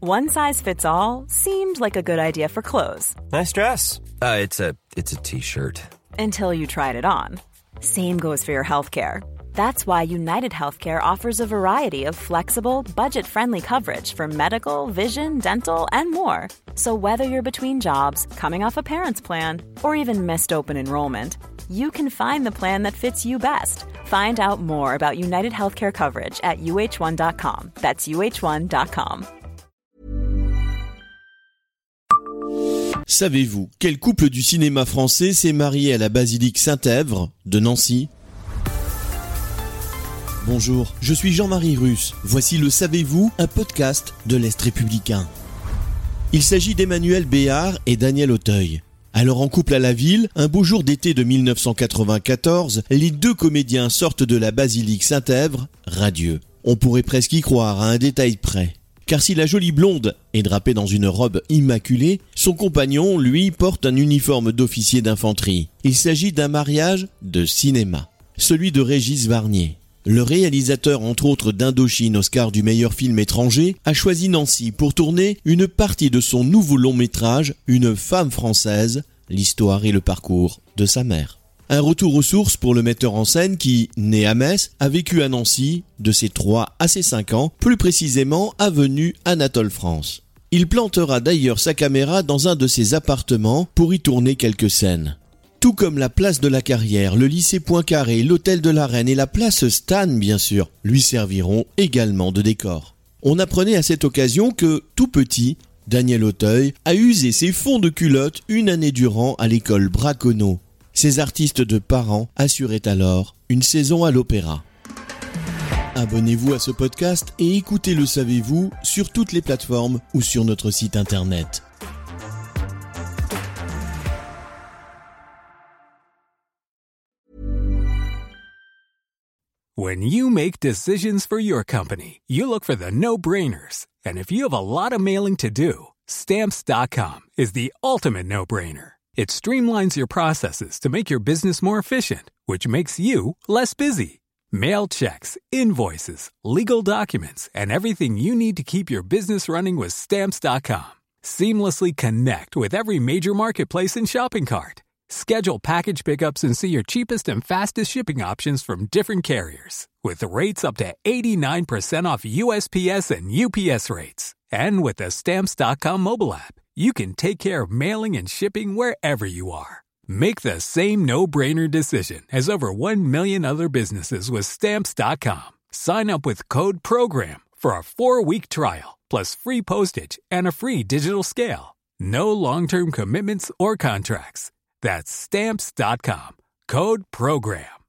One size fits all seemed like a good idea for clothes. Nice dress. It's a t-shirt. Until you tried it on. Same goes for your healthcare. That's why United Healthcare offers a variety of flexible, budget-friendly coverage for medical, vision, dental, and more. So whether you're between jobs, coming off a parent's plan, or even missed open enrollment, you can find the plan that fits you best. Find out more about United Healthcare coverage at uh1.com. That's uh1.com. Savez-vous quel couple du cinéma français s'est marié à la basilique Saint-Èvre de Nancy ? Bonjour, je suis Jean-Marie Russe. Voici le Savez-vous, un podcast de l'Est républicain. Il s'agit d'Emmanuel Béard et Daniel Auteuil. Alors en couple à la ville, un beau jour d'été de 1994, les deux comédiens sortent de la basilique Saint-Èvre, radieux. On pourrait presque y croire à un détail près. Car si la jolie blonde est drapée dans une robe immaculée, son compagnon, lui, porte un uniforme d'officier d'infanterie. Il s'agit d'un mariage de cinéma, celui de Régis Varnier. Le réalisateur, entre autres d'Indochine, Oscar du meilleur film étranger, a choisi Nancy pour tourner une partie de son nouveau long-métrage, Une femme française, l'histoire et le parcours de sa mère. Un retour aux sources pour le metteur en scène qui, né à Metz, a vécu à Nancy de ses 3 à ses 5 ans, plus précisément avenue Anatole France. Il plantera d'ailleurs sa caméra dans un de ses appartements pour y tourner quelques scènes. Tout comme la place de la Carrière, le lycée Poincaré, l'hôtel de la Reine et la place Stan, bien sûr, lui serviront également de décor. On apprenait à cette occasion que, tout petit, Daniel Auteuil a usé ses fonds de culotte une année durant à l'école Braconneau. Ces artistes de parents assuraient alors une saison à l'opéra. Abonnez-vous à ce podcast et écoutez Le Savez-vous sur toutes les plateformes ou sur notre site internet. When you make decisions for your company, you look for the no-brainers. And if you have a lot of mailing to do, Stamps.com is the ultimate no-brainer. It streamlines your processes to make your business more efficient, which makes you less busy. Mail checks, invoices, legal documents, and everything you need to keep your business running with Stamps.com. Seamlessly connect with every major marketplace and shopping cart. Schedule package pickups and see your cheapest and fastest shipping options from different carriers. With rates up to 89% off USPS and UPS rates. And with the Stamps.com mobile app, you can take care of mailing and shipping wherever you are. Make the same no-brainer decision as over 1 million other businesses with Stamps.com. Sign up with code PROGRAM for a 4-week trial, plus free postage and a free digital scale. No long-term commitments or contracts. That's Stamps.com. Code PROGRAM.